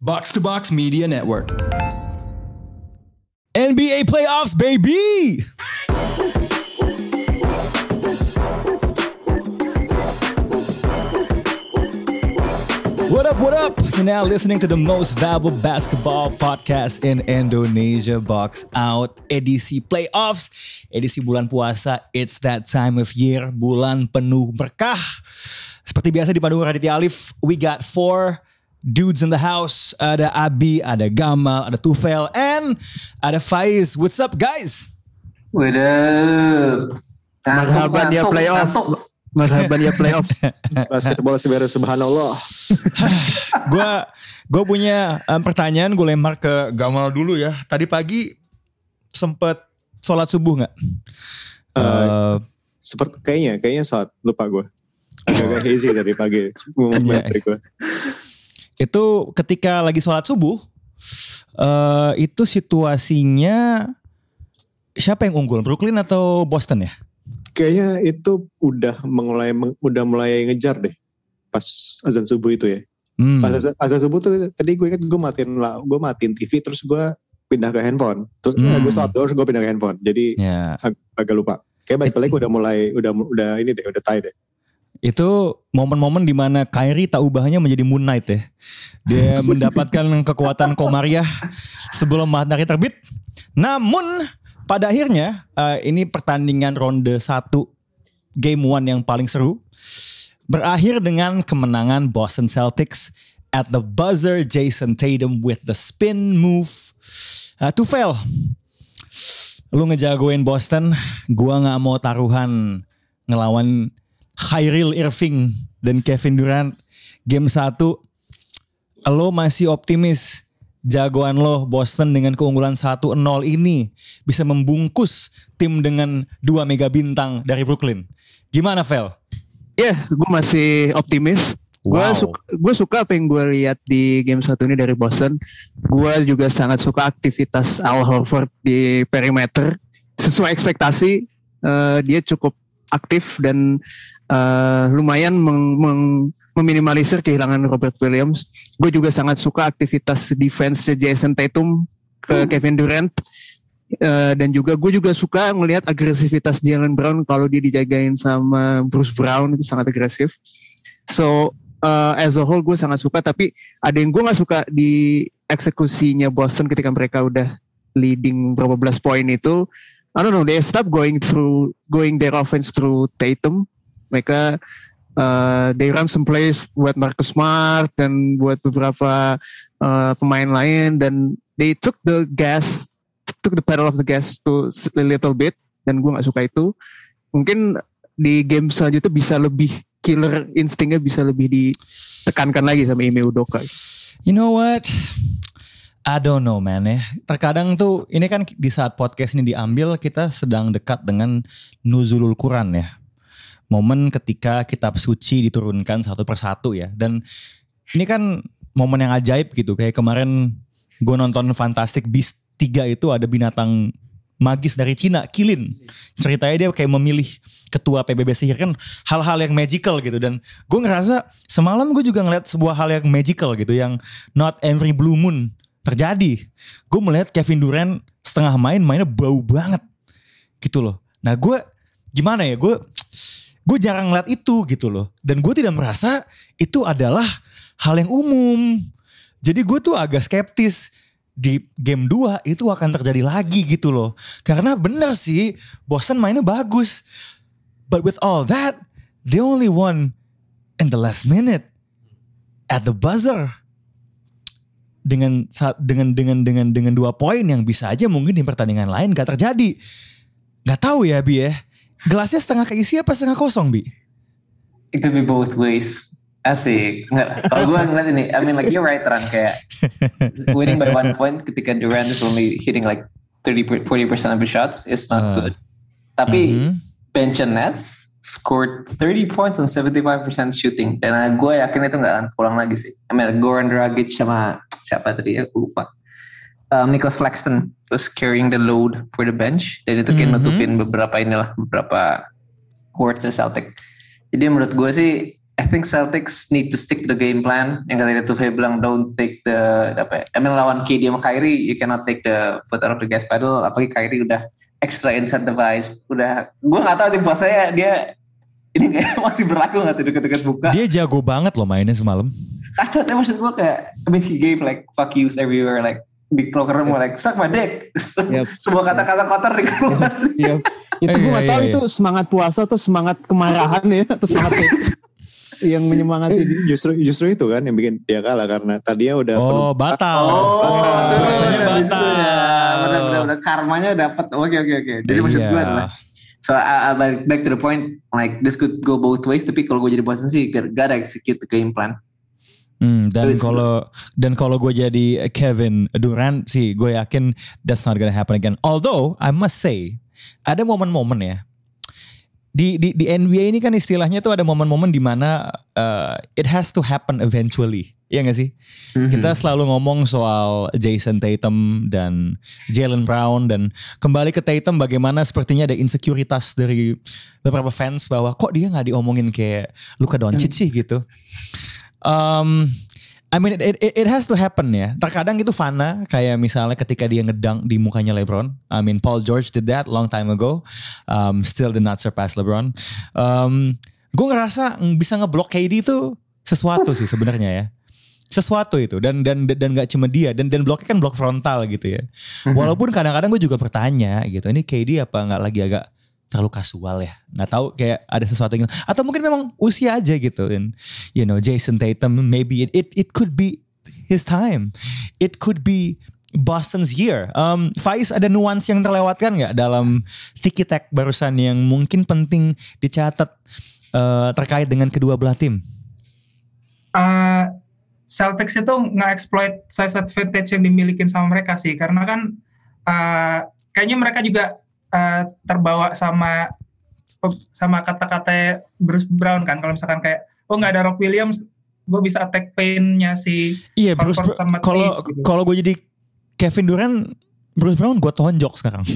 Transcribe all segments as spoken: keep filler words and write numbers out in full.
Box to Box Media Network. N B A playoffs, baby! What up, what up? You're now listening to the most valuable basketball podcast in Indonesia, Box Out, edisi playoffs, edisi bulan puasa. It's that time of year, bulan penuh berkah. Seperti biasa di Pandu Raditya Alif, we got four dudes in the house. Ada Abi, ada Gamal, ada Tufel, and ada Faiz. What's up, guys? What up? Marhaban ya playoff. Marhaban ya playoff. Basketball sebenarnya subhanallah. Gue gue punya um, pertanyaan, gue lempar ke Gamal dulu ya. Tadi pagi sempet sholat subuh nggak? Uh, Uh, seperti kayaknya, kayaknya saat lupa gue. Agak hazy tadi pagi. Memory gue. Itu ketika lagi sholat subuh, uh, itu situasinya siapa yang unggul? Brooklyn atau Boston ya? Kayaknya itu udah mulai udah mulai ngejar deh pas azan subuh itu ya. Hmm. Pas azan, azan subuh tuh tadi gue kan gue matiin lah, gue matiin T V terus gue pindah ke handphone. Terus Hmm. eh, gue start terus gue pindah ke handphone. Jadi Ya. ag- agak lupa. Kayak balik-balik udah mulai udah udah ini deh, udah tie deh. Itu momen-momen dimana Kyrie tak ubahnya menjadi Moon Knight ya. Dia mendapatkan kekuatan Komariah sebelum matahari terbit. Namun pada akhirnya uh, ini pertandingan ronde satu game one yang paling seru. Berakhir dengan kemenangan Boston Celtics at the buzzer. Jason Tatum with the spin move. Uh, Tufel, lu ngejagoin Boston. Gua gak mau taruhan ngelawan Kyrie Irving dan Kevin Durant game satu. Lo masih optimis jagoan lo Boston dengan keunggulan satu nol ini bisa membungkus tim dengan dua mega bintang dari Brooklyn. Gimana, Vel? Ya, yeah, gue masih optimis. Gue Wow. suka, gue suka apa yang gue lihat di game satu ini dari Boston. Gue juga sangat suka aktivitas Al Horford di perimeter. Sesuai ekspektasi, uh, dia cukup aktif dan uh, lumayan meng, meng, meminimalisir kehilangan Robert Williams. Gue juga sangat suka aktivitas defense Jason Tatum ke Kevin Durant. Uh, dan juga gue juga suka ngelihat agresivitas Jaylen Brown kalau dia dijagain sama Bruce Brown, itu sangat agresif. So uh, as a whole gue sangat suka, tapi ada yang gue nggak suka di eksekusinya Boston ketika mereka udah leading berapa belas poin itu. I don't know, they stop going through going their offense through Tatum. Mereka uh, they run some plays buat Marcus Smart dan buat beberapa uh, pemain lain, dan they took the gas took the pedal of the gas to a little bit, dan gue nggak suka itu. Mungkin di game selanjutnya bisa lebih killer instingnya bisa lebih ditekankan lagi sama Ime Udoka. You know what? I don't know, man ya. Terkadang tuh ini kan di saat podcast ini diambil kita sedang dekat dengan Nuzulul Quran ya. Momen ketika kitab suci diturunkan satu persatu ya. Dan ini kan momen yang ajaib gitu. Kayak kemarin gue nonton Fantastic Beasts tiga itu ada binatang magis dari Cina, Kilin. Ceritanya dia kayak memilih ketua P B B sihir, kan hal-hal yang magical gitu. Dan gue ngerasa semalam gue juga ngeliat sebuah hal yang magical gitu, yang not every blue moon terjadi. Gue melihat Kevin Durant setengah main, mainnya bau banget gitu loh. Nah gue gimana ya, gue gue jarang ngeliat itu gitu loh. Dan gue tidak merasa itu adalah hal yang umum. Jadi gue tuh agak skeptis di game dua itu akan terjadi lagi gitu loh. Karena bener sih Boston mainnya bagus. But with all that, they only won in the last minute at the buzzer. Dengan dengan dengan dengan dengan dua poin yang bisa aja mungkin di pertandingan lain gak terjadi. Gak tahu ya Bi ya. Gelasnya setengah keisi apa setengah kosong Bi? It could be both ways. Asik. Nggak, kalau gue ngeliat ini, I mean like you're right Ran, kayak winning by one point ketika Durant is only hitting like thirty to forty percent of the shots is not uh, good. Tapi mm-hmm. bench and Nets scored thirty points on seventy-five percent shooting. Dan gue yakin itu gak akan pulang lagi sih. I mean Goran Dragic sama siapa tadi ya, gue lupa. Um, Nicholas Claxton was carrying the load for the bench. Dan itu kayak mm-hmm. nutupin beberapa inilah, beberapa words the Celtic. Jadi menurut gue sih I think Celtics need to stick to the game plan. Yang katanya Tuve bilang don't take the apa ya? I mean lawan K D sama Kyrie, you cannot take the foot out of the gas pedal. Apalagi Kyrie udah extra incentivized. Udah, gue nggak tahu tim puasanya dia ini kayak masih berlaku nggak tuh deket-deket buka. Dia jago banget loh mainnya semalam. Kacau, tapi maksud gue kayak, I mean he gave like fuck yous everywhere, like di locker room like suck my dick. Yep. Semua kata-kata kotor dikeluar. Yep. Itu gue nggak tahu itu semangat puasa atau semangat kemarahan ya atau semangat yang menyemangati. Eh, justru justru itu kan yang bikin dia kalah karena tadinya udah oh batal. Oh, rasanya batal. Benar-benar karmanya dapat. Oke oke oke. Jadi maksud gue adalah, so uh, back to the point, like this could go both ways. Tapi kalau gue jadi Boston sih, gotta execute the game plan. Hmm, dan kalau dan kalau gue jadi Kevin Durant sih, gue yakin that's not gonna happen again. Although I must say, ada momen-momen ya. Di, di, di N B A ini kan istilahnya tuh ada momen-momen di mana uh, it has to happen eventually. Iya gak sih? Mm-hmm. Kita selalu ngomong soal Jason Tatum dan Jaylen Brown. Dan kembali ke Tatum, bagaimana sepertinya ada insekuritas dari beberapa fans bahwa kok dia gak diomongin kayak Luka Doncic sih gitu. Um, I mean it, it, it has to happen ya. Terkadang itu fana, kayak misalnya ketika dia ngedunk di mukanya LeBron. I mean Paul George did that long time ago. Um, still did not surpass LeBron. Um, gue ngerasa bisa ngeblok K D itu sesuatu sih sebenarnya ya. Sesuatu itu dan dan dan nggak cuma dia dan dan bloknya kan blok frontal gitu ya. Walaupun kadang-kadang gue juga bertanya gitu, ini K D apa nggak lagi agak terlalu kasual ya, nggak tahu kayak ada sesuatu yang, atau mungkin memang usia aja gitu. And you know Jason Tatum maybe it it, it could be his time, it could be Boston's year. Um, Faiz, ada nuans yang terlewatkan nggak dalam tiki tak barusan yang mungkin penting dicatat uh, terkait dengan kedua belah tim? Uh, Celtics itu nge-exploit size advantage yang dimilikin sama mereka sih, karena kan uh, kayaknya mereka juga Uh, terbawa sama sama kata-kata Bruce Brown kan, kalau misalkan kayak oh nggak ada Rock Williams, gue bisa attack pain-nya si iya Bruce sama kalau gitu. Kalau gue jadi Kevin Durant, Bruce Brown gue tonjok sekarang.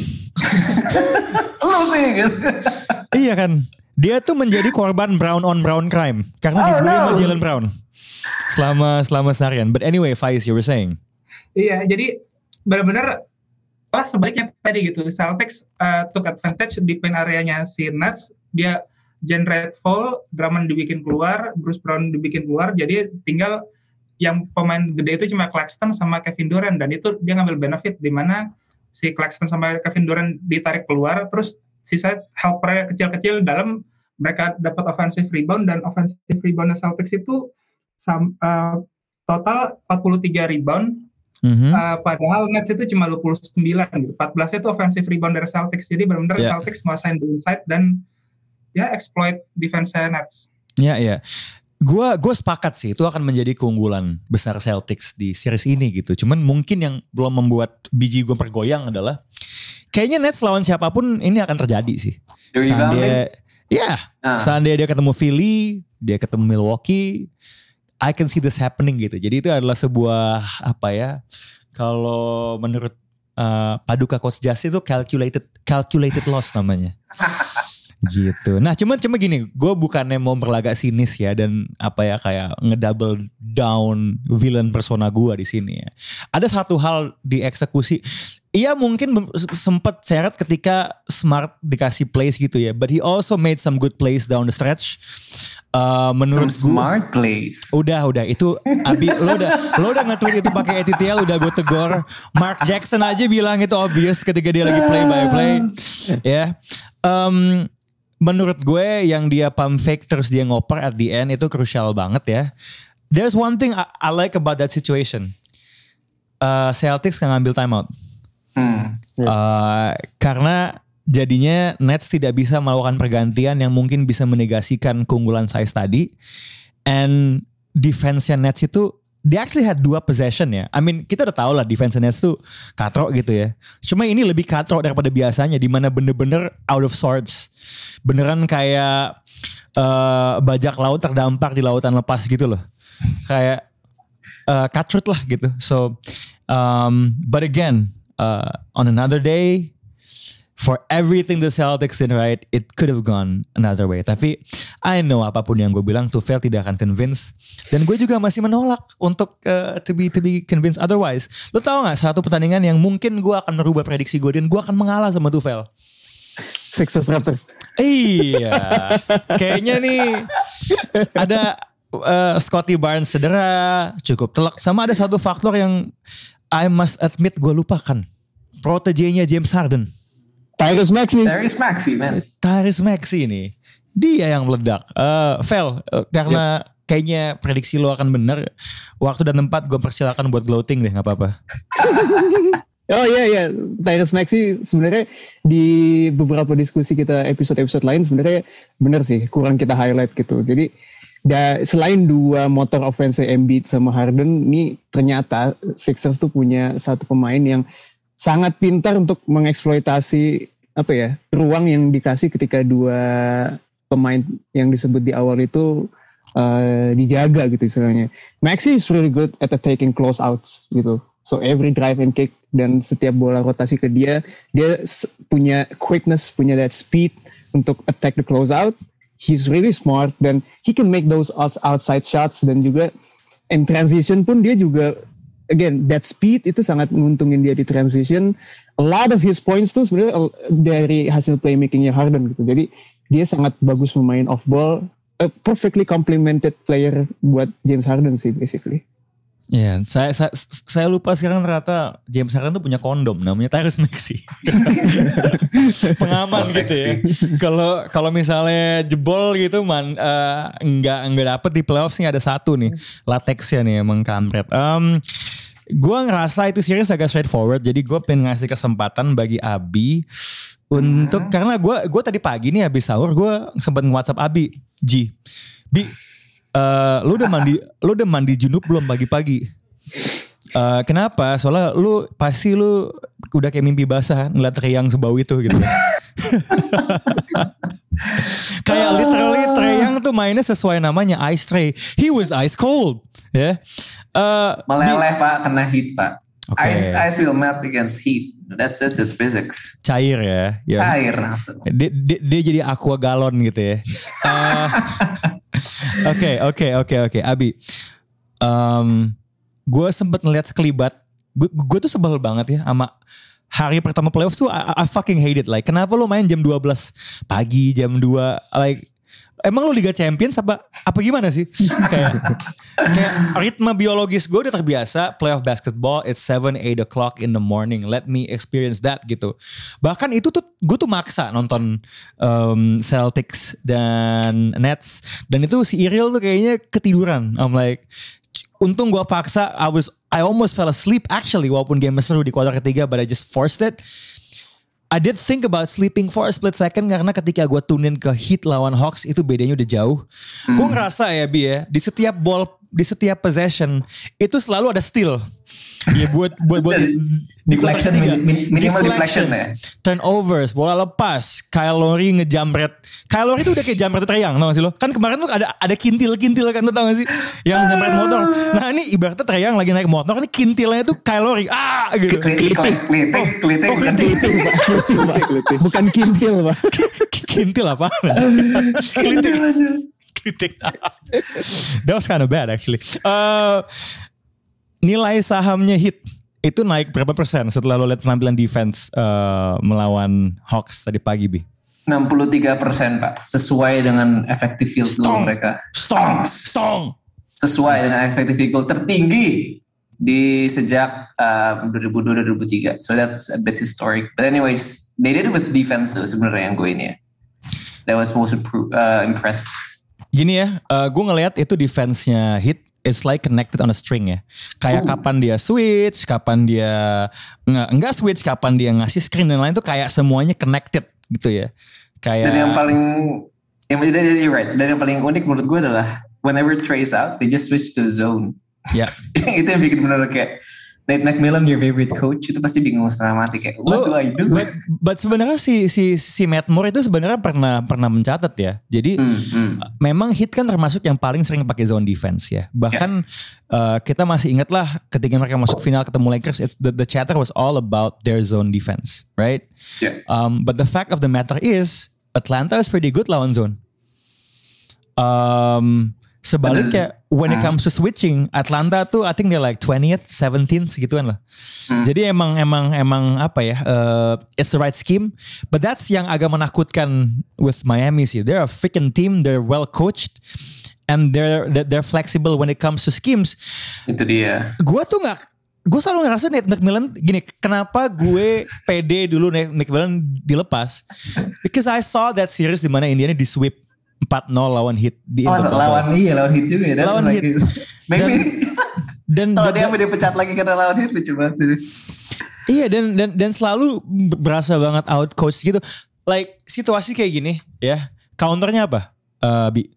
Lu sih gitu. Iya kan, dia tuh menjadi korban brown on brown crime karena oh, dibully no. sama Jaylen Brown selama selama seharian. But anyway, Faiz, you were saying. Iya, jadi benar-benar lah sebaliknya tadi gitu, Celtics uh, took advantage di paint areanya si Nets, dia generate foul, Drummond dibikin keluar, Bruce Brown dibikin keluar, jadi tinggal yang pemain gede itu cuma Claxton sama Kevin Durant, dan itu dia ngambil benefit di mana si Claxton sama Kevin Durant ditarik keluar, terus sisa helper kecil-kecil dalam, mereka dapat offensive rebound, dan offensive rebound Celtics itu sam, uh, total empat puluh tiga rebound. Mm-hmm. Uh, padahal Nets itu cuma dua puluh sembilan gitu. empat belas itu offensive rebound dari Celtics. Jadi benar-benar yeah. Celtics nguasain the inside dan ya exploit defense Nets. Ya yeah, ya. Yeah. Gua gue sepakat sih itu akan menjadi keunggulan besar Celtics di series ini gitu. Cuman mungkin yang belum membuat biji gue bergoyang adalah kayaknya Nets lawan siapapun ini akan terjadi sih. Seandainya ya, ah. seandainya dia ketemu Philly, dia ketemu Milwaukee, I can see this happening gitu. Jadi itu adalah sebuah apa ya? Kalau menurut uh, Paduka Coach Jas itu calculated calculated loss namanya. Gitu. Nah, cuman cuma gini, gue bukannya mau berlagak sinis ya dan apa ya kayak ngedouble down villain persona gue di sini ya. Ada satu hal di eksekusi, ia mungkin sempat seret ketika Smart dikasih plays gitu ya, but he also made some good plays down the stretch. Uh, menurut some smart gua, plays. Udah, udah itu Abi lo udah lo udah nge-tweet itu pakai E T T L, udah gue tegor. Mark Jackson aja bilang itu obvious ketika dia lagi play by play. Ya. Yeah. Um, menurut gue yang dia pump fake terus dia ngoper at the end itu crucial banget ya. There's one thing I, I like about that situation. Uh, Celtics gak ngambil timeout. Hmm. Uh, karena jadinya Nets tidak bisa melakukan pergantian yang mungkin bisa menegasikan keunggulan size tadi. And defense-nya Nets itu, they actually had dua possession ya. I mean kita udah tahu lah defense Nets tuh katrok gitu ya. Cuma ini lebih katrok daripada biasanya, di mana bener-bener out of sorts. Beneran kayak uh, bajak laut terdampar di lautan lepas gitu loh. Kayak uh, cutthroat lah gitu. So, um, but again, uh, on another day, for everything the Celtics did right, it could have gone another way. Tapi I know apapun yang gue bilang, Tufel tidak akan convince. Dan gue juga masih menolak untuk uh, to be to be convinced otherwise. Lo tau gak satu pertandingan yang mungkin gue akan merubah prediksi gue dan gue akan mengalah sama Tufel? Sixers Raptors. Iya, kayaknya nih ada uh, Scottie Barnes cedera, cukup telak. Sama ada satu faktor yang I must admit gue lupakan. Protege-nya James Harden. Tyrese Maxey. Tyrese Maxey, man. Tyrese Maxey nih. Dia yang meledak. Uh, Vel, uh, karena yep. kayaknya prediksi lo akan benar. Waktu dan tempat gue persilakan buat gloating deh, gak apa-apa. Oh iya iya, Tyrese Maxey sebenarnya di beberapa diskusi kita episode-episode lain sebenarnya benar sih, kurang kita highlight gitu. Jadi da, selain dua motor offense Embiid sama Harden, ini ternyata Sixers tuh punya satu pemain yang sangat pintar untuk mengeksploitasi apa ya ruang yang dikasih ketika dua pemain yang disebut di awal itu uh, dijaga gitu istilahnya. Maxey is really good at taking close outs gitu. So every drive and kick dan setiap bola rotasi ke dia, dia punya quickness, punya that speed untuk attack the close out. He's really smart dan he can make those outside shots dan juga in transition pun dia juga again, that speed itu sangat menguntungin dia di transition. A lot of his points tuh sebenarnya dari hasil playmakingnya Harden gitu. Jadi dia sangat bagus memain off ball. A perfectly complemented player buat James Harden sih basically. Ya, yeah, saya, saya saya lupa sekarang ternyata James Harden tuh punya kondom namanya Tyrese Maxey. Pengaman gitu ya. Kalau kalau misalnya jebol gitu man uh, enggak enggak dapet di playoffs nih ada satu nih latexnya nih emang kampret. Um, gue ngerasa itu series agak straightforward, jadi gue pengen ngasih kesempatan bagi Abi untuk hmm. karena gue gue tadi pagi nih habis sahur gue sempat nge-WhatsApp Abi, Ji, Bi. Uh, lu udah mandi, lu udah mandi junub belum pagi-pagi? Uh, kenapa? Soalnya lu pasti lu udah kayak mimpi basah ngeliat Trae Young sebau itu gitu. Kayak literally Trae Young tuh mainnya sesuai namanya Ice Trae. He was ice cold, ya. Yeah. Uh, Meleleh di, pak, kena heat pak. Okay. Ice ice will melt against heat. That's that's his physics. Cair ya. ya. Cair langsung. Dia, dia, dia jadi aqua galon gitu ya. Oke oke oke oke Abi. Um, gue sempet ngeliat sekelibat. Gue tuh sebel banget ya sama hari pertama playoffs tuh. I, I fucking hate it. Like kenapa lo main jam dua belas pagi, jam dua? Like emang lo Liga Champions apa apa gimana sih? Kayak kayak ritme biologis gue udah terbiasa playoff basketball. It's seven eight o'clock in the morning. Let me experience that gitu. Bahkan itu tuh gue tuh maksa nonton um, Celtics dan Nets, dan itu si Iril tuh kayaknya ketiduran. I'm like, untung gue paksa. I was I almost fell asleep actually walaupun game seru di kuarter ketiga, but I just forced it. I did think about sleeping for a split second karena ketika gue tune in ke Heat lawan Hawks itu bedanya udah jauh. Hmm. Gue ngerasa ya Bi ya, di setiap ball, di setiap possession itu selalu ada steal. Ya buat buat buat deflection, min, minimal deflection ya. Turnovers, bola lepas, Kyle Lowry ngejamret. Kyle Lowry itu udah kayak jamret Trae Young, tau gak sih lo? Kan kemarin tuh ada ada kintil-kintil kan, lo tau gak sih? Yang jamret motor. Nah ini ibaratnya Trae Young lagi naik motor, ini kintilnya tuh Kyle Lowry. Ah gitu. Klitik, klitik, klitik. Bukan kintil pak. Kintil apa? Klitik. Klitik. That was kind of bad actually. Uh, Nilai sahamnya Heat itu naik berapa persen setelah lo lihat penampilan defense uh, melawan Hawks tadi pagi, Bi? enam puluh tiga persen Pak. Sesuai dengan effective field goal mereka. Stong, stong. Sesuai dengan effective field goal tertinggi di sejak uh, dua ribu dua dua ribu tiga. So that's a bit historic. But anyways, they did it with defense tuh sebenarnya yang gue ini ya. That was most impro- uh, impressed. Gini ya, uh, gue ngelihat itu defense-nya Heat. It's like connected on a string ya. Kayak uh. kapan dia switch, kapan dia nggak enggak switch, kapan dia ngasih screen dan lain tuh kayak semuanya connected gitu ya. Kayak. Dan yang paling, yang you're right. Dan yang paling unik menurut gue adalah whenever Trae's out, they just switch to zone. Ya. Yeah. Itu yang bikin benar kayak Nate McMillan, your favorite coach, itu pasti bingung setengah mati kayak what do I do? But, but sebenarnya si si si Matt Moore itu sebenarnya pernah pernah mencatat ya. Jadi Hmm, hmm. memang Heat kan termasuk yang paling sering pakai zone defense ya. Bahkan uh, kita masih ingat lah ketika mereka masuk final ketemu Lakers, it's, the, the chatter was all about their zone defense, right? Yeah. Um, but the fact of the matter is Atlanta is pretty good lawan zone. Um, sebaliknya when it comes to switching, Atlanta tuh I think they're like twentieth, seventeenth segituan lah. Hmm. Jadi emang emang emang apa ya? Uh, it's the right scheme, but that's yang agak menakutkan with Miami sih. They're a freaking team, they're well coached, and they're they're flexible when it comes to schemes. Itu dia. Gue tuh nggak, gue selalu ngerasa Nate McMillan gini. Kenapa gue pede dulu Nate McMillan dilepas? Because I saw that series di mana Indiana di sweep empat nol lawan Heat di Oh, lawan iya lawan Heat juga ya. Lawan like Heat. Maybe Dan kalau dan, dia sampai dipecat lagi karena lawan Heat lucu banget sih. iya dan dan dan selalu berasa banget out coach gitu. Like situasi kayak gini ya. Counternya apa? Uh, Bi.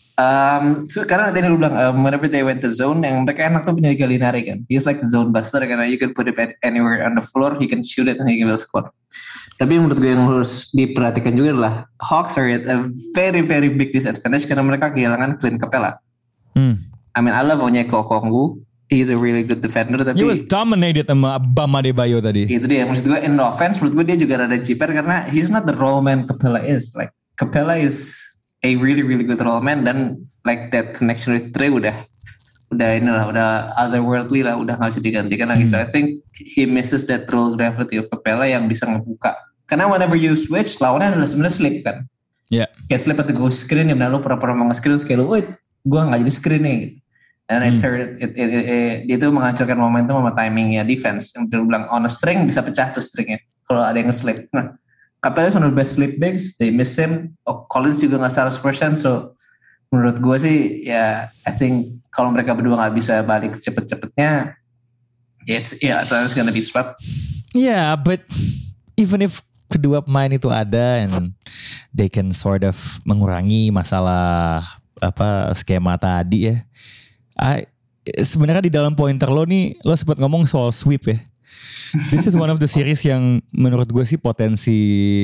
Um, so, karena tadi lu bilang um, whenever they went to zone, yang mereka enak tuh punya Gallinari kan. He's like the zone buster karena you can put it anywhere on the floor, he can shoot it and he can score. Tapi yang menurut gue yang harus diperhatikan juga adalah Hawks are at a very very big disadvantage karena mereka kehilangan Clint Capella. Hmm. I mean I love Onyeka Okongwu, he's a really good defender tapi He was dominated sama Bam Adebayo tadi. itu dia maksud gue in offense menurut gue dia juga rada jiper karena he's not the role man Capella is. Like Capella is a really really good role man dan like that connection with Trey udah udah inilah udah otherworldly lah, udah nggak bisa digantikan lagi. Hmm. So I think he misses that role gravity of Capella yang bisa ngebuka. Karena whenever you switch, lawannya adalah sebenarnya slip kan. Iya. Yeah. Kayak slip atau go screen, ya benar lu pura-pura mau nge-screen, terus kayak lu, wait, gue nggak jadi screen nih. Gitu. And hmm. it, it, it, it, it, dia itu menghancurkan momentum sama timingnya defense. Yang dia bilang on a string bisa pecah tuh stringnya kalau ada yang nge-slip. Nah, Capella is one of the best slip bigs, they miss him. Oh, Collins juga nggak seratus persen, so menurut gue sih ya, I think kalau mereka berdua nggak bisa balik cepet-cepetnya, it's yeah, it's gonna be swept. Yeah, but even if kedua pemain itu ada and they can sort of mengurangi masalah apa skema tadi ya. I, sebenarnya di dalam pointer lo nih lo sempat ngomong soal sweep ya. This is one of the series yang menurut gue sih potensi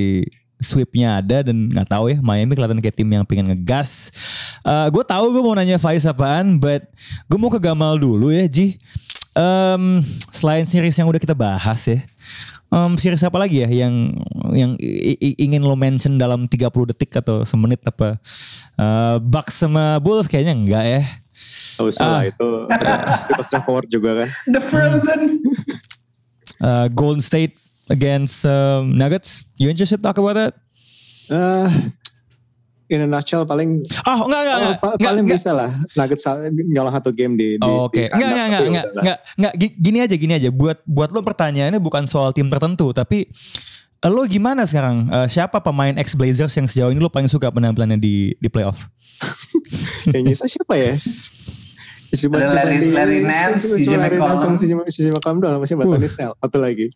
sweepnya ada dan nggak tahu ya Miami kelihatan kayak tim yang pengen ngegas. Uh, gue tahu gue mau nanya Faiz apaan, but gue mau ke Gamal dulu ya Ji. Um, selain series yang udah kita bahas ya. Um, series apa lagi ya yang yang i- i- ingin lo mention dalam tiga puluh detik atau semenit apa? Uh, Bucks sama Bulls kayaknya enggak ya. Oh salah ah. itu itu forward juga kan. The Frozen. uh, Golden State against um, Nuggets. You interested to talk about that? Uh, in a nutshell paling oh enggak enggak, enggak, oh, enggak paling enggak. bisa lah Nuggets nyolong satu game di, di oh, oke okay. enggak enggak enggak enggak, enggak enggak gini aja gini aja buat buat lo pertanyaannya bukan soal tim tertentu tapi lo gimana sekarang uh, siapa pemain ex Blazers yang sejauh ini lo paling suka penampilannya di di playoff? Yang nyisa siapa ya? Cuma cuma Larry, di Larry Nance, si Larry Nance sama si si McCollum doang sama siapa? Tony Snell atau lagi?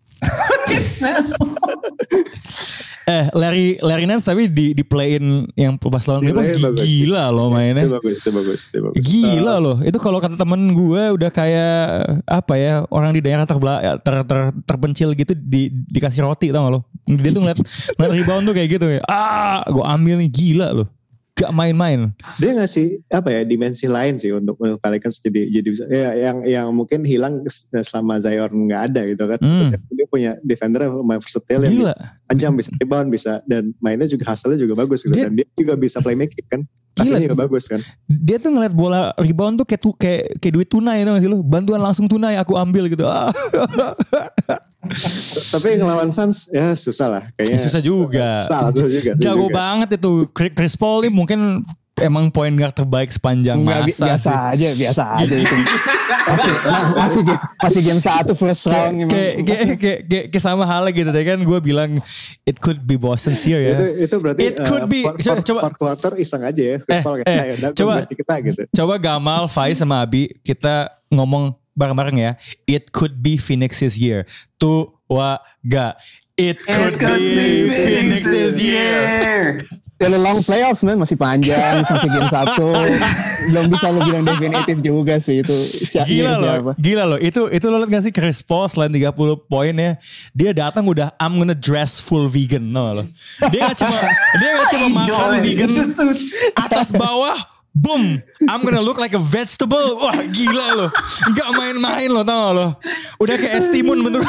eh Larry Larry Nance tapi di di playin yang pas lawan Clippers gila loh mainnya. Itu bagus, itu bagus, itu bagus. Gila uh, loh. Itu kalau kata temen gue udah kayak apa ya orang di daerah terbela, ter, ter, terpencil gitu di dikasih roti tau gak lo? Dia tuh ngeliat, ngeliat rebound tuh kayak gitu ya. Ah, gue ambil nih gila loh. Gak main-main. Dia ngasih apa ya dimensi lain sih untuk Pelicans jadi jadi bisa ya, yang yang mungkin hilang selama Zion nggak ada gitu kan. Hmm. Dia punya defender yang versatile yang panjang bisa rebound bisa dan mainnya juga hasilnya juga bagus gitu dia, dan dia juga bisa playmaking kan. Hasilnya juga bagus kan. Dia tuh ngeliat bola rebound tuh kayak tu, kayak kayak duit tunai tau gak sih lu? Bantuan langsung tunai aku ambil gitu. Tapi ngelawan Suns ya susah lah kayaknya. Susah juga. Susah, susah juga. Susah Jago juga. banget itu Chris Paul nih mungkin emang point guard terbaik sepanjang Nggak, masa biasa sih. aja biasa aja itu masih masih game masih game satu first round kayak kayak kayak kayak kayak sama halnya gitu deh kan gue bilang it could be Boston here ya itu, itu berarti it could be uh, coba, coba quarter iseng aja ya Chris eh, Paul eh, kayak coba kita gitu coba Gamal Faiz sama Abi kita ngomong bareng-bareng ya it could be Phoenix's year tuh wa ga It could, it could be, be Phoenix's year. Still a long playoffs man, masih panjang sampai game satu. Belum bisa lo bilang definitif juga sih itu. Gila loh, siapa? Gila loh. Itu itu lo liat gak sih Chris Paul selain tiga puluh poin ya, dia datang udah I'm gonna dress full vegan, no lo. Dia gak cuma dia gak cuma makan vegan atas bawah. Boom, I'm gonna look like a vegetable. Wah gila loh, gak main-main loh, tau lo. Udah kayak Estimun bentuk.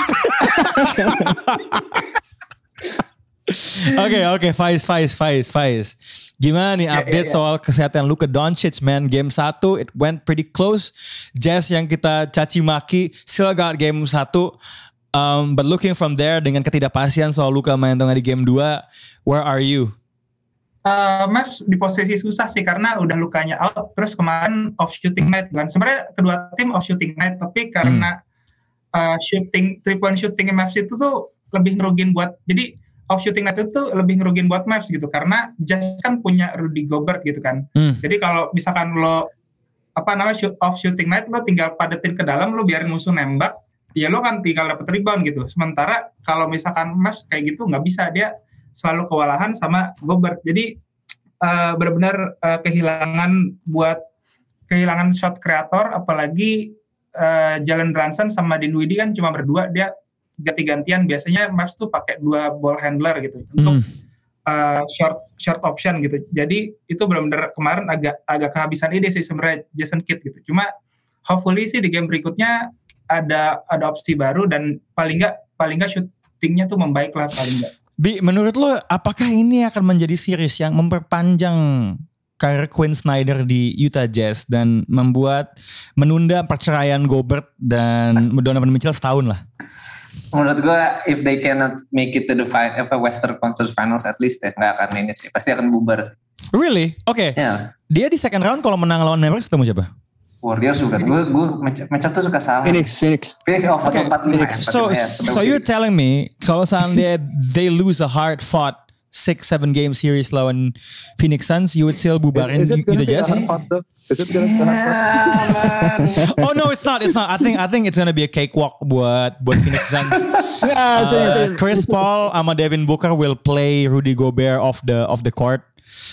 Oke oke, Faiz Faiz Faiz Faiz. Gimana nih update yeah, yeah, yeah. soal kesehatan Luka Doncic man? Game satu it went pretty close. Jazz yang kita caci maki still got game satu. Um, but looking from there dengan ketidakpastian soal Luka main atau nggak di game dua, where are you? Uh, Mavs di posisi susah sih karena udah Lukanya out, terus kemarin off shooting night kan. Sebenarnya kedua tim off shooting night, tapi karena hmm. uh, shooting three point shooting Mavs itu tuh lebih ngerugin buat, jadi off shooting night itu lebih ngerugin buat Mavs gitu karena Jazz kan punya Rudy Gobert gitu kan. Hmm. Jadi kalau misalkan lo apa namanya shoot, off shooting night lo tinggal padetin ke dalam, lo biarin musuh nembak, ya lo kan tinggal dapet rebound gitu. Sementara kalau misalkan Mavs kayak gitu nggak bisa, dia selalu kewalahan sama Gobert. Jadi uh, benar-benar uh, kehilangan buat kehilangan shot creator, apalagi uh, Jalen Brunson sama Dinwiddie kan cuma berdua, dia ganti-gantian. Biasanya Mavs tuh pakai dua ball handler gitu hmm. untuk uh, short short option gitu. Jadi itu benar-benar kemarin agak agak kehabisan ide sih sebenarnya Jason Kidd gitu. Cuma hopefully sih di game berikutnya ada ada opsi baru dan paling nggak paling nggak shootingnya tuh membaik lah paling nggak. Bi, menurut lo apakah ini akan menjadi series yang memperpanjang karir Quinn Snyder di Utah Jazz dan membuat menunda perceraian Gobert dan Donovan Mitchell setahun lah? Menurut gue, if they cannot make it to the final, apa Western Conference Finals at least ya, nggak akan ini sih, pasti akan bubar. Really? Oke. Okay. Yeah. Dia di second round kalau menang lawan Mavericks ketemu siapa? Warriors juga. Gue gue macam tuh suka salah. Phoenix, Phoenix. Phoenix oh okay. empat lima. So ya, so you're telling me kalau seandainya they lose a hard fought six seven game series lawan Phoenix Suns, you would still bubarin is, is Utah Jazz? Is it gonna be hard fought? Oh no, it's not. It's not. I think I think it's gonna be a cakewalk buat buat Phoenix Suns. uh, Chris Paul sama Devin Booker will play Rudy Gobert off the off the court.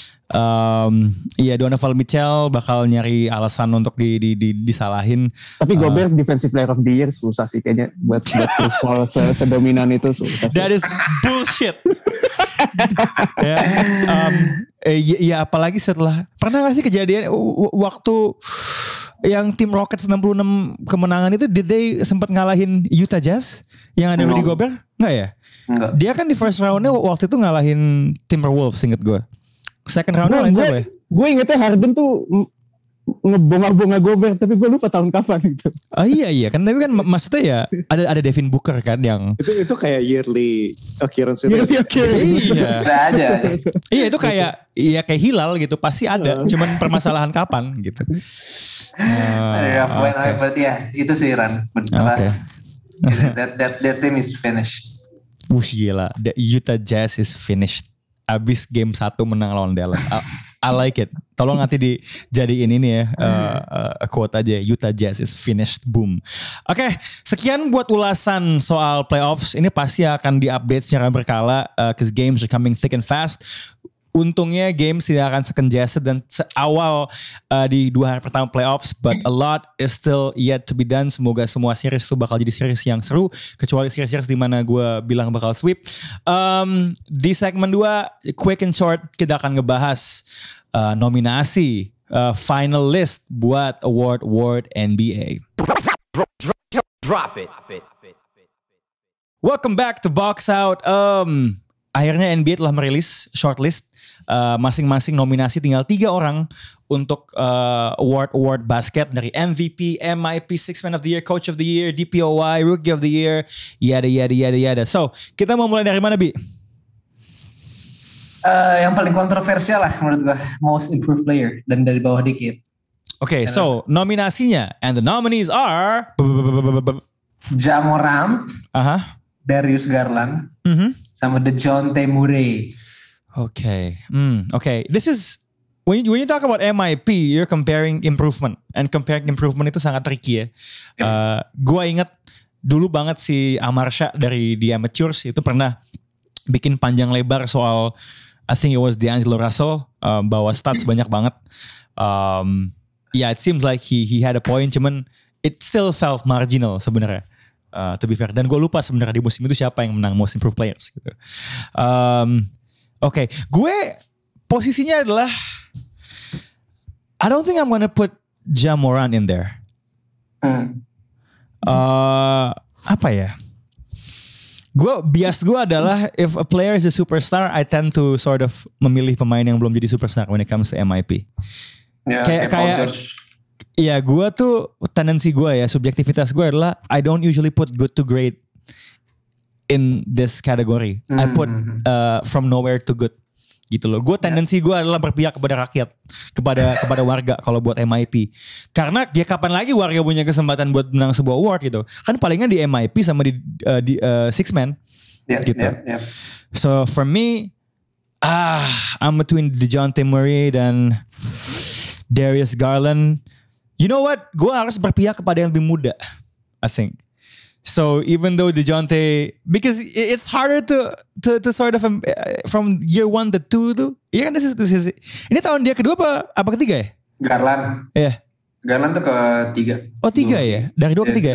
Um, iya Donovan Mitchell bakal nyari alasan untuk di, di, di disalahin. Tapi Gobert uh, defensive player of the year susah sih kayaknya buat buat Chris Paul sedominan itu susah. That is bullshit. ya, um, eh, ya, ya apalagi setelah pernah gak sih kejadian w- waktu yang tim Rockets enam puluh enam kemenangan itu, did they sempat ngalahin Utah Jazz yang ada Rudy Gobert? Enggak ya? Enggak. Dia kan di first roundnya waktu itu ngalahin Timberwolves, inget gue. Second roundnya lain siapa ya? Gue ingetnya Harden tuh ngebonga-bonga Gobert, tapi gue lupa tahun kapan gitu. Oh iya iya kan, tapi kan maksudnya ya ada ada Devin Booker kan yang itu itu kayak yearly occurrence itu. Yearly occurrence. Iya. aja. Iya itu kayak iya kayak hilal gitu, pasti ada. Cuman permasalahan kapan gitu. Uh, ada poin okay. Berarti ya itu sih Ran. Oke. That that that team is finished. Wuh gila, the Utah Jazz is finished. Abis game satu menang lawan Dallas. I, I like it. Tolong nanti dijadiin ini ya, uh, uh, quote aja, Utah Jazz is finished, boom. Oke, okay, sekian buat ulasan soal playoffs. Ini pasti akan diupdate secara berkala, uh, cause games are coming thick and fast. Untungnya games tidak akan secongested dan seawal uh, di dua hari pertama playoffs, but a lot is still yet to be done. Semoga semua series itu bakal jadi series yang seru, kecuali series-series di mana gue bilang bakal sweep. Um, di segmen dua, quick and short, kita akan ngebahas uh, nominasi uh, final list buat award award N B A. Drop, drop, drop it. Welcome back to Box Out. Um, akhirnya N B A telah merilis shortlist. Uh, masing-masing nominasi, tinggal tiga orang untuk uh, award-award basket dari M V P, M I P, Sixth Man of the Year, Coach of the Year, D P O Y, Rookie of the Year, yada yada yada yada. So, kita mau mulai dari mana, Bi? Uh, yang paling kontroversial lah menurut gue, Most Improved Player, dan dari bawah dikit. Oke, okay, so nominasinya, and the nominees are Ja Morant, uh-huh. Darius Garland, mm-hmm. sama DeJounte Murray. Okay. Mm, okay. This is when you, when you talk about M I P, you're comparing improvement, and comparing improvement itu sangat tricky ya. Uh, gua ingat dulu banget si Amarsha dari The Amateurs itu pernah bikin panjang lebar soal I think it was D'Angelo Russell uh, bawa stats banyak banget. Um, yeah, it seems like he he had a point, cuman it still felt marginal sebenarnya. Uh, to be fair, dan gue lupa sebenarnya di musim itu siapa yang menang Most Improved Players. Gitu. Um, Oke, okay. Gue posisinya adalah I don't think I'm gonna put Ja Morant in there. Hmm. Uh, apa ya? Gue bias gue adalah if a player is a superstar, I tend to sort of memilih pemain yang belum jadi superstar when it comes to M I P. Ya, kayak kayak iya, gue tuh tendensi gue ya, subjektivitas gue adalah I don't usually put good to great in this category. Mm-hmm. I put uh, from nowhere to good gitu loh. Gue tendensi gue adalah berpihak kepada rakyat, kepada kepada warga kalau buat M I P. Karena dia kapan lagi warga punya kesempatan buat menang sebuah award gitu. Kan palingan di M I P sama di uh, di uh, Six Man yeah, gitu. Yeah, yeah. So for me, ah, I'm between DeJounte Murray dan Darius Garland. You know what? Gue harus berpihak kepada yang lebih muda, I think. So even though DeJounte, because it's harder to to to sort of um, from year one to two tuh. Iya kan, this is, this is, ini tahun dia kedua apa apa ketiga ya? Garland. Iya. Yeah. Garland tuh ketiga. Oh tiga dua. Ya? Dari dua ke tiga.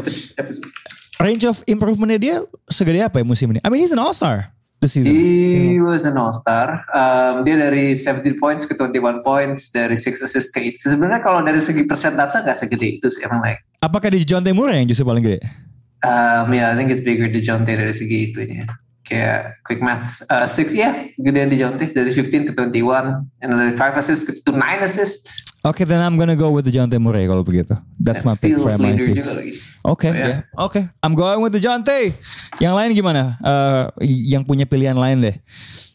Range of improvementnya dia segede apa ya musim ini? I mean he's an all-star this season. He was an all-star. Um, dia dari seventeen points ke twenty-one points, dari six assists ke eight. Sebenarnya kalau dari segi persentase gak segede itu sih emang like. Apakah di DeJounte Murray yang justru paling gede? Um, yeah, I think it's bigger DeJounte dari segi itu ya. Kayak quick maths. Uh, six, ya, yeah, gedean DeJounte dari fifteen ke twenty-one, and dari five assists to nine assists. Okay, then I'm gonna go with DeJounte Murray kalau begitu. That's and my pick for M I P. Okay, so, yeah. yeah. Okay. I'm going with DeJounte. Yang lain gimana? Uh, yang punya pilihan lain deh.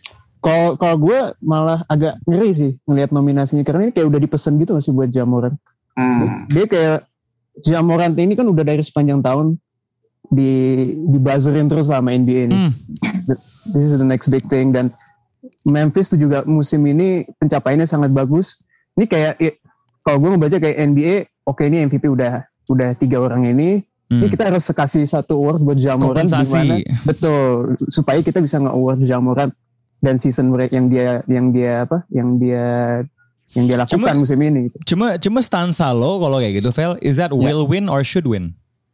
Kalau kalau gue malah agak ngeri sih ngelihat nominasinya, karena ini kayak udah dipesan gitu masih buat Ja Morant. Hmm. Dia kayak Ja Morant ini kan udah dari sepanjang tahun di di buzzerin terus sama N B A ini. Hmm. This is the next big thing, dan Memphis tuh juga musim ini pencapaiannya sangat bagus. Ini kayak ya, kalau gue ngebaca kayak N B A, oke okay, ini M V P udah udah tiga orang ini. Hmm. Ini kita harus kasih satu award buat Ja Morant gimana? Betul, supaya kita bisa nge-award Ja Morant dan season break yang dia yang dia apa? Yang dia yang dia lakukan cuma, musim ini. Cuma cuma stansa lo kalau kayak gitu, Vel, is that yeah. will win or should win?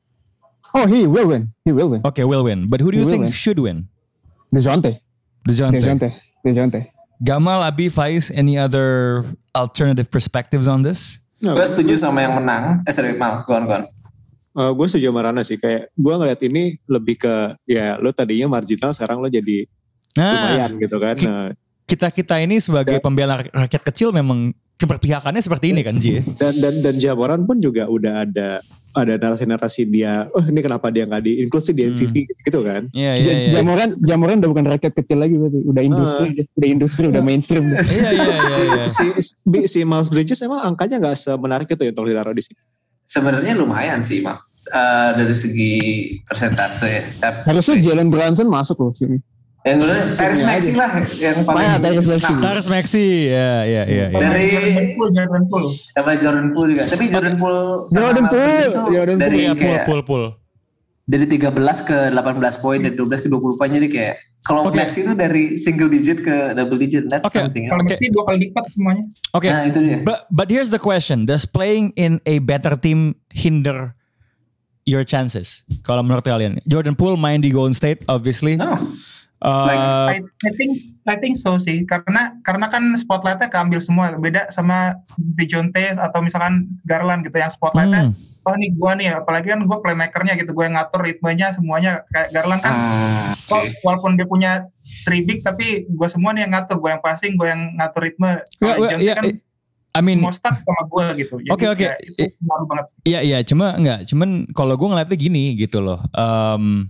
Oh, he will win. He will win. Okay, will win. But who do you he think should win? DeJounte. DeJounte. DeJounte. DeJounte. Gamal, Abi, Faiz, any other alternative perspectives on this? No. Gue setuju sama yang menang. Eh sorry, Mal, go on, go on. Uh, gue setuju sama Rana sih. Kayak gue ngeliat ini lebih ke, ya lo tadinya marginal, sekarang lo jadi nah, lumayan gitu kan. Nah, kita-kita ini sebagai dan, pembela rakyat kecil memang keberpihakannya seperti ini kan, Ji? Dan dan dan Ja Morant pun juga udah ada ada narasi-narasi dia, oh ini kenapa dia nggak di-inklusi di M V P hmm. gitu kan? Iya iya. Ja Morant, Ja Morant udah bukan rakyat kecil lagi berarti, udah industri, uh, udah industri, udah mainstream. Iya iya iya. Si, si Miles Bridges emang angkanya nggak semenarik itu ya untuk ditaruh di sini. Sebenarnya lumayan sih, Mak. Uh, dari segi persentase. Harusnya Jalen Brunson masuk loh sini. Yang gue Tyrese Maxey lah yang paling ah, Tyrese Maxey. Tyrese Maxey, ya ya ya. Dari Jordan Poole, sama Jordan Poole juga. Tapi Jordan Poole, Jordan Poole, Jordan dari Poole, Poole, Poole. Dari tiga belas ke delapan belas poin, dari dua belas ke dua puluh poin, jadi kayak kalau okay. Maxey itu dari single digit ke double digit, that's okay. something. Kalau Maxey dua kali lipat semuanya. Oke. Okay. Nah, itu dia. But but here's the question: does playing in a better team hinder your chances? Kalau menurut kalian, Jordan Poole main di Golden State, obviously. No. Uh, like, I, I think I think so sih, karena karena kan spotlightnya keambil semua, beda sama DeJounte atau misalkan Garland gitu yang spotlightnya hmm. oh nih gue nih, apalagi kan gue playmakernya gitu, gue yang ngatur ritmenya semuanya. Kayak Garland kan uh, okay. walaupun dia punya three big tapi gue semua nih yang ngatur, gue yang passing, gue yang ngatur ritme. Kalau yeah, yeah, kan I mean, mau start sama gue gitu. Oke oke. Itu ngaruh banget. Iya iya, cuma enggak, cuman kalau gue ngeliatnya gini gitu loh. Um,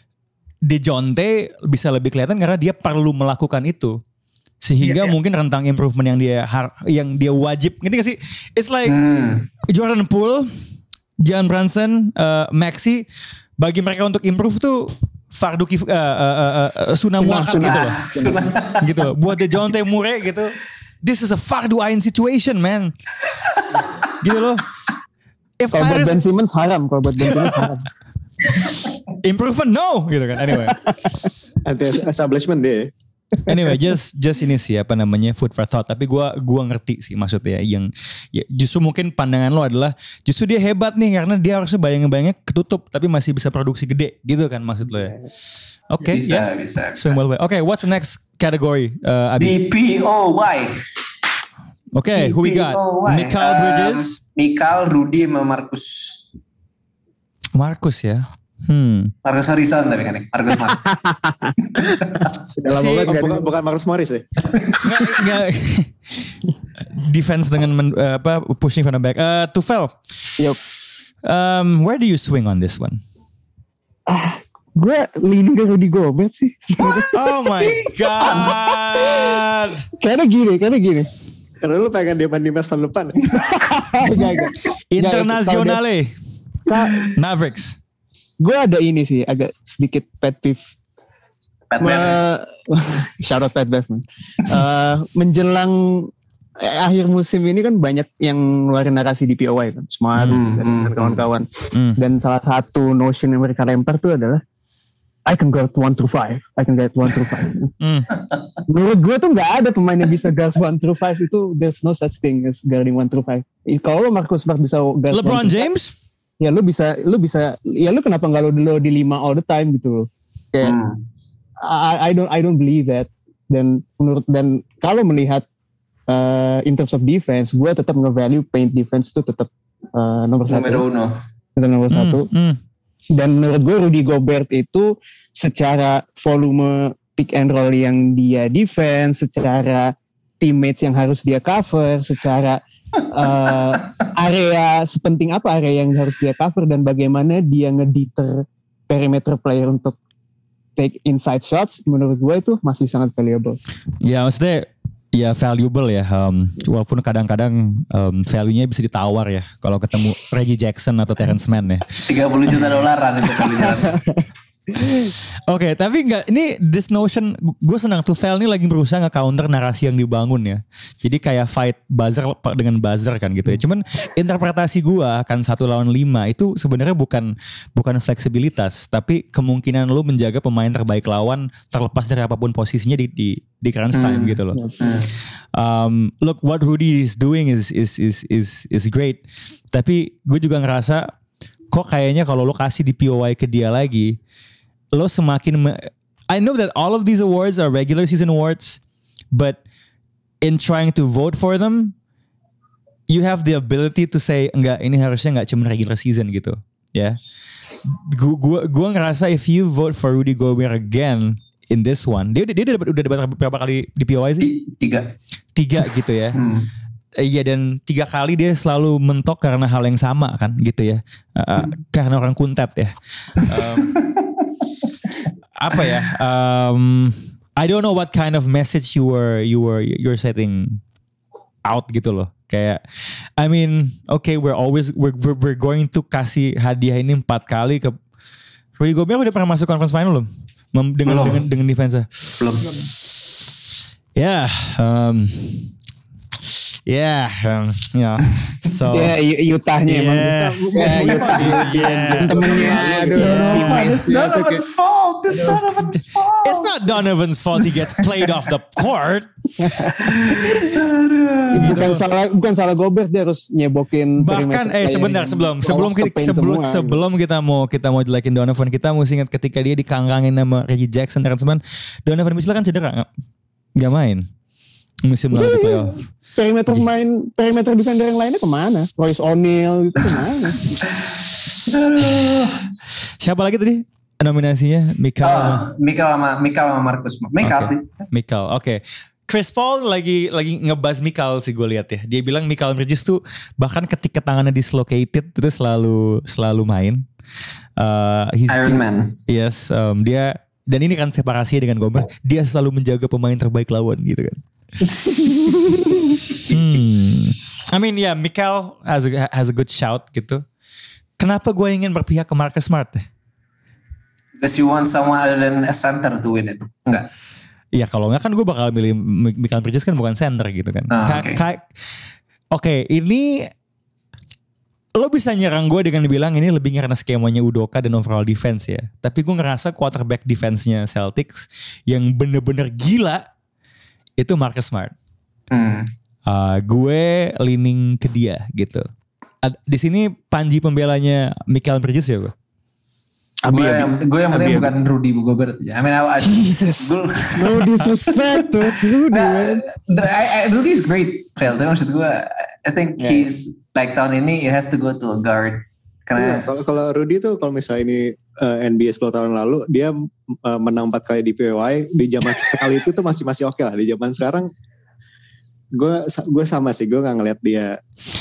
DeJounte bisa lebih kelihatan karena dia perlu melakukan itu, sehingga yeah, yeah. mungkin rentang improvement yang dia yang dia wajib, ngerti gak sih? It's like hmm. Jordan Poole, Jalen Brunson, uh, Maxey, bagi mereka untuk improve tuh fardu kif, uh, uh, uh, uh, sunnah muakkad gitu loh, gitu loh. Buat DeJounte Murray gitu, this is a fardu ain situation, man. Gitu loh. Kalau buat Ben Simmons haram, kalau buat Ben Simmons haram. Improvement no gitu kan. Anyway. Anti-establishment dia. Anyway, just just ini sih apa namanya food for thought. Tapi gue gua ngerti sih maksudnya yang ya, justru mungkin pandangan lo adalah justru dia hebat nih karena dia harusnya bayang-bayangnya ketutup tapi masih bisa produksi gede gitu kan maksud lo ya. Oke, okay, bisa, yeah. bisa, bisa. Oke, okay, what's the next category? Uh, D P O Y. Oke, okay, who we got? Mikal Bridges, um, Mikal, Rudy, sama Marcus. Marcus ya. Hmm. Marcus Harrison tapi kan Marcus Marcus. si, oh, bukan, bukan Marcus Morris ya? Nggak, nggak. Defense dengan men, uh, apa pushing from the back. Uh, Tufel. Yup. Um, where do you swing on this one? Ah, gue leaning ke Rudy Gobert sih. Oh my god. Karena gini, karena gini. Karena lu pengen dia main di match tahun depan. Internasionale. Mavericks. Gue ada ini sih agak sedikit pet peeve. Pat Bev. Shout out Pat Bev. uh, menjelang eh, akhir musim ini kan banyak yang ngeluarin narasi di P O Y kan, Smart Hmm, dan, hmm, dan kawan-kawan. Hmm. Dan salah satu notion yang mereka lempar tuh adalah I can guard one through five. I can guard one through five. Hmm. Menurut gue tuh nggak ada pemain yang bisa guard one through five itu. There's no such thing as guarding one through five. Kalau Marcus Smart bisa guard LeBron James? Five, ya lu bisa, lu bisa, ya lu kenapa nggak lo lo di lima all the time gitu loh? Kayak Hmm. I, I don't I don't believe that. Dan menurut dan kalau melihat uh, in terms of defense, gue tetap nge-value paint defense itu tetap uh, nomor satu. Numero uno. Tetap nomor Hmm, satu. hmm. Dan menurut gue Rudy Gobert itu secara volume pick and roll yang dia defense, secara teammates yang harus dia cover, secara uh, area sepenting apa area yang harus dia cover dan bagaimana dia ngedeter perimeter player untuk take inside shots, menurut gue itu masih sangat valuable. Ya maksudnya ya valuable ya, um, walaupun kadang-kadang um, value-nya bisa ditawar ya kalau ketemu Reggie Jackson atau Terrence Mann ya. tiga puluh juta dolaran itu kali jalan. Oke, okay, tapi enggak, ini this notion, gue senang tuh Vel ini lagi berusaha nge-counter narasi yang dibangun ya. Jadi kayak fight buzzer dengan buzzer kan gitu ya. Cuman interpretasi gue akan satu lawan lima itu sebenarnya bukan bukan fleksibilitas, tapi kemungkinan lu menjaga pemain terbaik lawan terlepas dari apapun posisinya di di di crunch time hmm. gitu loh. Hmm. Um, look, what Rudy is doing is is is is is great. Tapi gue juga ngerasa kok kayaknya kalau lu kasih di P O Y ke dia lagi, lo semakin me- I know that all of these awards are regular season awards, but in trying to vote for them, you have the ability to say enggak, ini harusnya enggak cuma regular season gitu, ya. Yeah. Gua gua gua ngerasa if you vote for Rudy Gobert again in this one, dia dia udah udah dapat berapa kali di P O I sih? Tiga. Tiga gitu ya. Hmm. Iya, dan tiga kali dia selalu mentok karena hal yang sama kan gitu ya. Uh, karena orang kuntet ya. Um, apa ya? Um, I don't know what kind of message you were you were you're setting out gitu loh. Kayak, I mean, okay, we're always we're we're, we're going to kasih hadiah ini empat kali ke Rudy Gobert. Udah pernah masuk conference final belum? Mem- dengan, dengan dengan defense-nya. Belum. Ya, yeah, um, yeah, um, yeah. So, ya yeah, Utahnya yeah. emang. Ya Utah. Temennya, aduh. It's Donovan's fault. It's Donovan's fault. It's not Donovan's fault he gets played off the court. Bukan salah, bukan salah Gobert, dia harus nyebokin. Bahkan, eh sebentar sebelum sebelum kita sebelum semua, sebelum gitu. kita mau kita mau jelekin Donovan, kita mesti ingat ketika dia dikangkangin sama Reggie Jackson, teman-teman, Donovan Mitchell kan cedera, nggak nggak main musim lalu di playoff. Perimeter main, perimeter defender yang lainnya kemana? Royce O'Neal gitu kemana? Siapa lagi tadi nominasinya? Mikal, oh, Mikal sama Mikal sama Marcus. Mikal okay. sih. Mikal, oke. Okay. Chris Paul lagi lagi ngebahas Mikal sih gue lihat ya. Dia bilang Mikal Bridges tuh bahkan ketika tangannya dislocated itu selalu selalu main. Uh, Iron Man. Yes, um, dia dan ini kan separasinya dengan Gobert. Dia selalu menjaga pemain terbaik lawan gitu kan. hmm. I mean ya yeah, Mikal has a, has a good shout gitu. Kenapa gue ingin berpihak ke Marcus Smart? Because you want someone other than a center to win it. Enggak. Iya kalau enggak kan gue bakal milih Mikal Bridges kan bukan center gitu kan. Oh, Oke, okay. okay, ini lo bisa nyerang gue dengan bilang ini lebih karena skemanya Udoka dan overall defense ya. Tapi gue ngerasa quarterback defense-nya Celtics yang bener-bener gila itu Marcus Smart. Hmm. Uh, gue leaning ke dia gitu. Ad, di sini Panji pembelanya Mikal Bridges ya gue. Gue yang gue yang penting bukan Rudy Gobert. I mean, I, I, Jesus, no disrespect to Rudy. Nah, I, I, Rudy is great, Phil. Tapi maksud gue, I think yeah. he's like tahun ini it has to go to a guard. Karena yeah, kalau Rudy tuh kalau misalnya ini uh, N B A sepuluh tahun lalu dia uh, menang empat kali di P W I di zaman kali itu tuh masih masih oke okay lah. Di zaman sekarang gue gue sama sih, gue nggak ngeliat dia.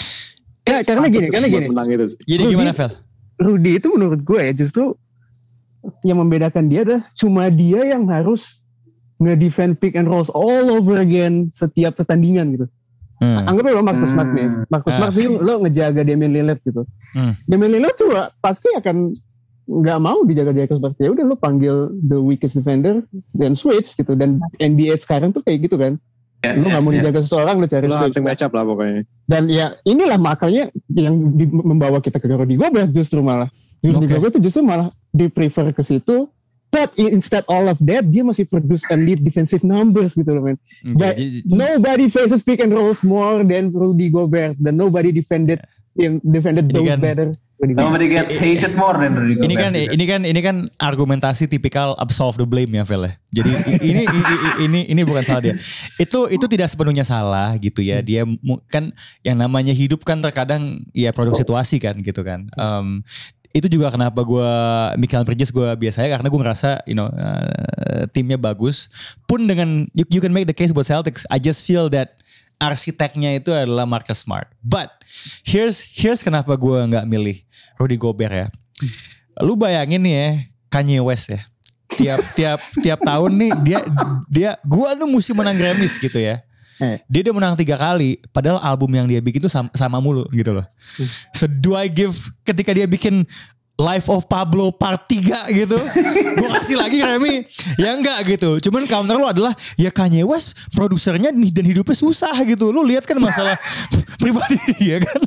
Ya karena gini, karena gini. Menang itu sih. Jadi Rudy, gimana Phil? Rudy itu menurut gue ya justru yang membedakan dia adalah cuma dia yang harus nge-defend pick and rolls all over again setiap pertandingan gitu. Hmm. Anggap aja lo Marcus Smart nih. Marcus Smart nih lo ngejaga Damian Lillard gitu. Hmm. Damian Lillard tuh pasti akan nggak mau dijaga Marcus Smart. Ya udah lo panggil the weakest defender dan switch gitu. Dan N B A sekarang tuh kayak gitu kan. Yeah, lo nggak yeah, mau dijaga yeah. seseorang lo cari lo hunting match up lah pokoknya. Dan ya inilah makanya yang di, membawa kita ke Rudy Gobert justru malah. Rudy okay. Gobert itu justru malah di prefer ke situ, but instead all of that dia masih produce elite defensive numbers gitu loh men. Okay. But nobody faces pick and rolls more than Rudy Gobert, dan nobody defended yang defended those kan, better. Nobody gets hated more than Rudy Gobert. Ini kan ini kan ini kan argumentasi tipikal absolve the blame ya Phil ya. Jadi ini ini ini ini bukan salah dia. Itu itu tidak sepenuhnya salah gitu ya. Dia kan yang namanya hidup kan terkadang ya produk situasi kan gitu kan. Um, itu juga kenapa gue Mikal Bridges gue biasanya karena gue ngerasa you know uh, timnya bagus pun dengan you, you can make the case buat Celtics. I just feel that arsiteknya itu adalah Marcus Smart. But here's here's kenapa gue nggak milih Rudy Gobert ya. Lu bayangin nih ya Kanye West ya. Tiap tiap tiap tahun nih dia dia gue tuh mesti menang Grammys gitu ya. Dia udah menang tiga kali, padahal album yang dia bikin tuh sama, sama mulu gitu loh. So do I give ketika dia bikin Life of Pablo part tiga gitu, gue kasih lagi Grammy? Ya enggak gitu. Cuman counter lo adalah ya Kanye West produsernya dan hidupnya susah gitu. Lo lihat kan masalah pribadi dia kan.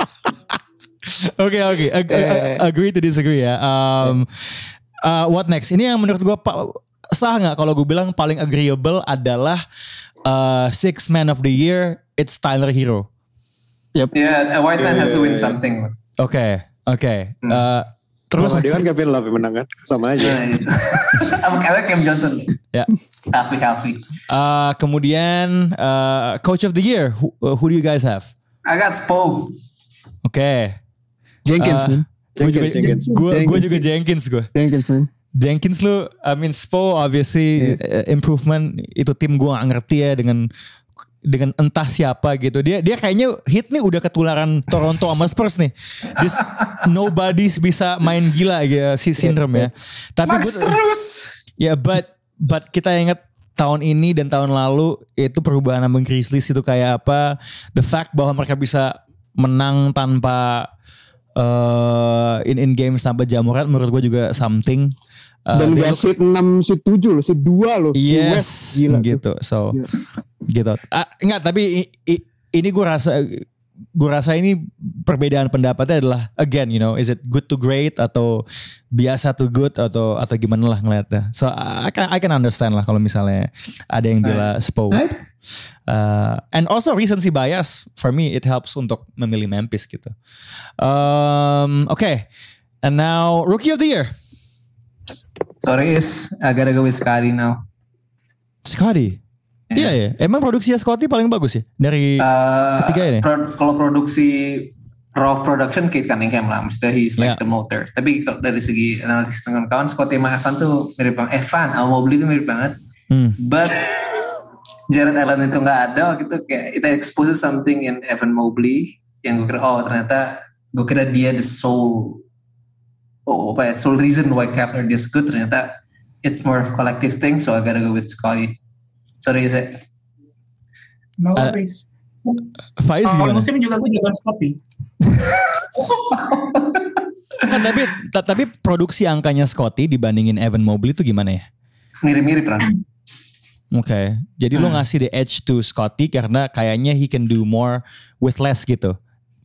Oke oke, agree to disagree ya. Um, uh, what next? Ini yang menurut gue sah nggak kalau gue bilang paling agreeable adalah Uh, six man of the year, it's Tyler Hero. Yep. Yeah, a white man yeah, has to win something. Oke, okay, oke. Okay. Hmm. Uh, terus dia kan Kevin Love yang menang kan, sama aja. Apa kayak Cam Johnson? Ya. Yeah. Happy happy. Uh, kemudian uh, coach of the year, who, uh, who do you guys have? I got Spo. Oke. Okay. Jenkins. Uh, Jenkins, Jenkins. Gue gue juga Jenkins gue. Jenkins man. Jenkins lu, I mean Spo obviously yeah. improvement itu tim gue gak ngerti ya dengan dengan entah siapa gitu. Dia dia kayaknya hit nih udah ketularan Toronto sama Spurs nih. This nobody's bisa main gila ya si syndrome ya. Tapi Max terus. Ya but but kita ingat tahun ini dan tahun lalu itu perubahan sama Grizzlies itu kayak apa? The fact bahwa mereka bisa menang tanpa uh, in in games tanpa Jamoran menurut gue juga something. Uh, dan gak shoot enam, shoot tujuh loh, shoot dua loh. Yes, gila gitu. Tuh. So, yeah. gitu. Ah, enggak, tapi i, i, ini gue rasa, gue rasa ini perbedaan pendapatnya adalah again, you know, is it good to great atau biasa to good atau atau gimana lah ngeliatnya. So I can I can understand lah kalau misalnya ada yang bilang Spo. Uh, and also recency bias for me it helps untuk memilih Memphis gitu. Um, Oke, okay. And now rookie of the year. Sorry is, I gotta go with Scotty now. Scotty? Iya yeah. ya, emang produksinya Scotty paling bagus ya dari uh, ketiga ini. Pro, kalau produksi raw production Kate Cunningham lah, maksudnya he's like yeah. the motor. Tapi kalau dari segi analisis dengan kawan, Scotty sama Evan tuh mirip banget. Evan, Al Mobley tuh mirip banget. Hmm. But Jared Allen itu nggak ada, gitu kayak it exposes something in Evan Mobley yang gue kira oh ternyata gue kira dia the soul. Oh, apa ya, sole reason why Cavs are this good, ternyata it's more of a collective thing, so I gotta go with Scotty. Sorry, is it? No worries. Uh, Faiz gimana? Awal musim juga gue jagoan Scotty. Nah, tapi t- tapi produksi angkanya Scotty dibandingin Evan Mobley itu gimana ya? Mirip-mirip kan? Oke, okay. Jadi hmm. lo ngasih the edge to Scotty karena kayaknya he can do more with less gitu.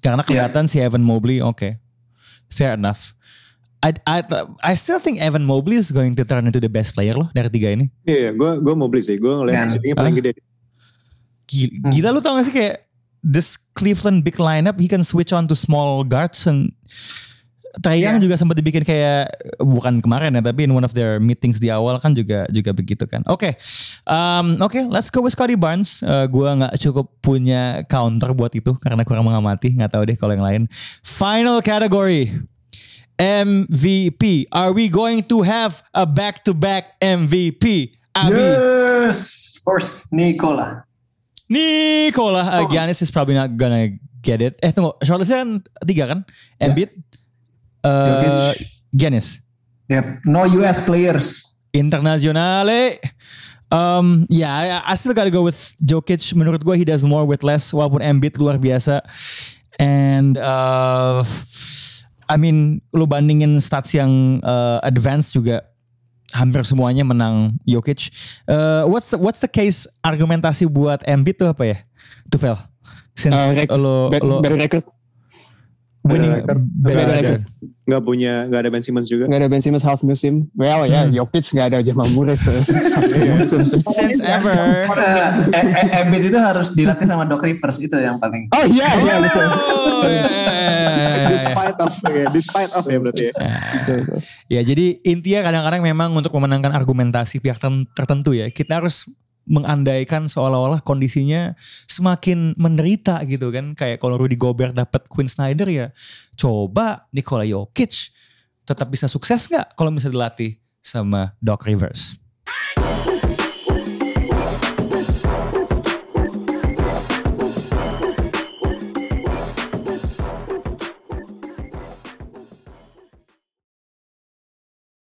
Karena kelihatan yeah. si Evan Mobley, oke, okay. fair enough. I, I I still think Evan Mobley is going to turn into the best player loh dari tiga ini. Iya, yeah, gue gue Mobley sih, gue ngeliat shootingnya paling gede. Gila, hmm. gila lu tau gak sih kayak this Cleveland big lineup, he can switch on to small guards and Trae Young yeah. juga sempat dibikin kayak bukan kemarin ya, tapi in one of their meetings di awal kan juga juga begitu kan. Oke, okay. um, oke, okay, let's go with Scottie Barnes. Uh, gua nggak cukup punya counter buat itu karena kurang mengamati. Nggak tahu deh kalau yang lain. Final category M V P. Are we going to have a back-to-back M V P? Abi? Yes, of course, Nikola. Nikola. Uh, Giannis is probably not gonna get it. Eh tunggu, shortlistnya kan tiga kan? Embiid. Yeah. Uh, Giannis. Yep. No U S players. Internasionale. Um, yeah, I still gotta go with Jokic. Menurut gue he does more with less. Walaupun Embiid luar biasa. And uh, I mean, lu bandingin stats yang uh, advance juga hampir semuanya menang Jokic. Uh, what's the, what's the case argumentasi buat Embiid tuh apa ya? Tufel. Since uh, rec- lo, baru, lo baru record. Winning nggak ada, nggak punya nggak ada Ben Simmons juga, nggak ada Ben Simmons half musim. Well ya, yeah, hmm. Jokic nggak ada Jamal Murray since ever. Embiid itu harus dilatih sama Doc Rivers, itu yang paling. Oh iya iya betul. Despite of ya, despite of ya berarti ya. Ya jadi intinya kadang-kadang memang untuk memenangkan argumentasi pihak tertentu ya kita harus mengandaikan seolah-olah kondisinya semakin menderita gitu kan. Kayak kalau Rudy Gobert dapat Quinn Snyder ya coba Nikola Jokic tetap bisa sukses gak kalau bisa dilatih sama Doc Rivers.